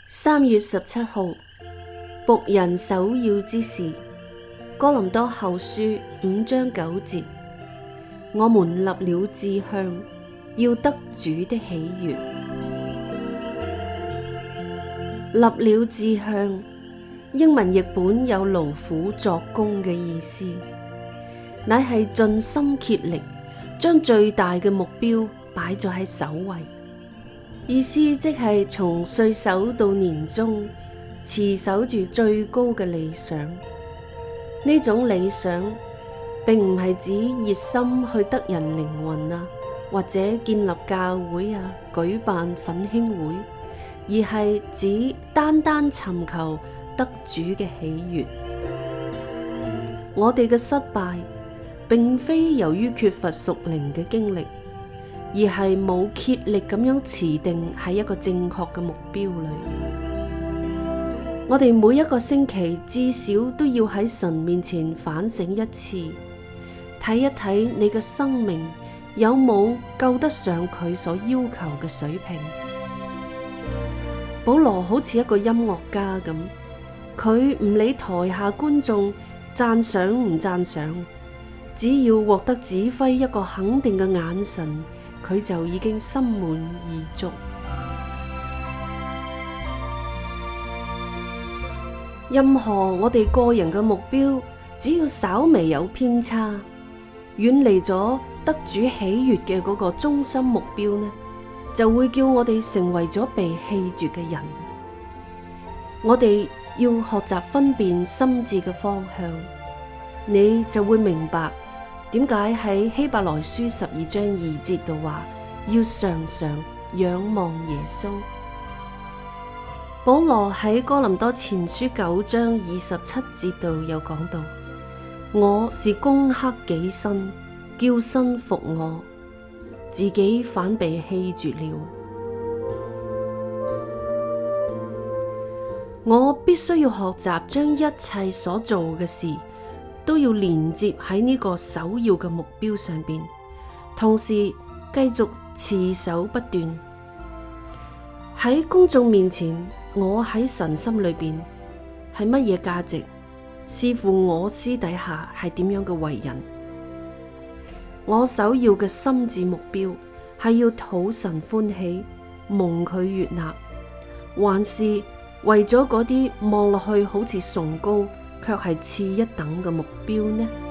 3月17號，僕人首要之事。哥林多後書5章9節，我們立了志向，要得主的喜悅。立了志向，英文譯本有勞苦作工嘅意思，乃係盡心竭力，將最大嘅目標擺咗喺首位。意思即係從歲首到年終，持守住最高嘅理想。呢種理想並唔係指熱心去得人靈魂啊，或者建立教會啊，舉辦奮興會，而係指單單尋求得主嘅喜悅。我哋嘅失敗並非由於缺乏屬靈嘅經歷，而係冇竭力咁樣持定喺一個正確嘅目標裏。我哋每一個星期至少都要喺神面前反省一次，睇一睇你嘅生命有冇夠得上佢所要求嘅水平。保羅好似一個音樂家咁，佢唔理台下觀眾讚賞唔讚賞，只要獲得指揮一個肯定嘅眼神，佢就已經心滿意足。任何我哋個人嘅目標，只要稍微有偏差，遠離咗得主喜悅嘅嗰個中心目標呢，就會叫我哋成為咗被棄絕嘅人。我哋要學習分辨心智嘅方向，你就會明白點解喺希伯來書12章2節度話要常常仰望耶穌。保羅喺哥林多前書9章27節度有講到，我是攻克己身，叫身服我，自己反被棄絕了。我必須要學習將一切所做嘅事都要連接喺呢個首要嘅目標上邊，同時繼續持守不斷。喺公眾面前，我喺神心裏邊係乜嘢價值，視乎我私底下係點樣嘅為人。我首要嘅心智目標係要討神歡喜，蒙佢悅納，還是為咗嗰啲望落去好似崇高卻係次一等嘅目標呢？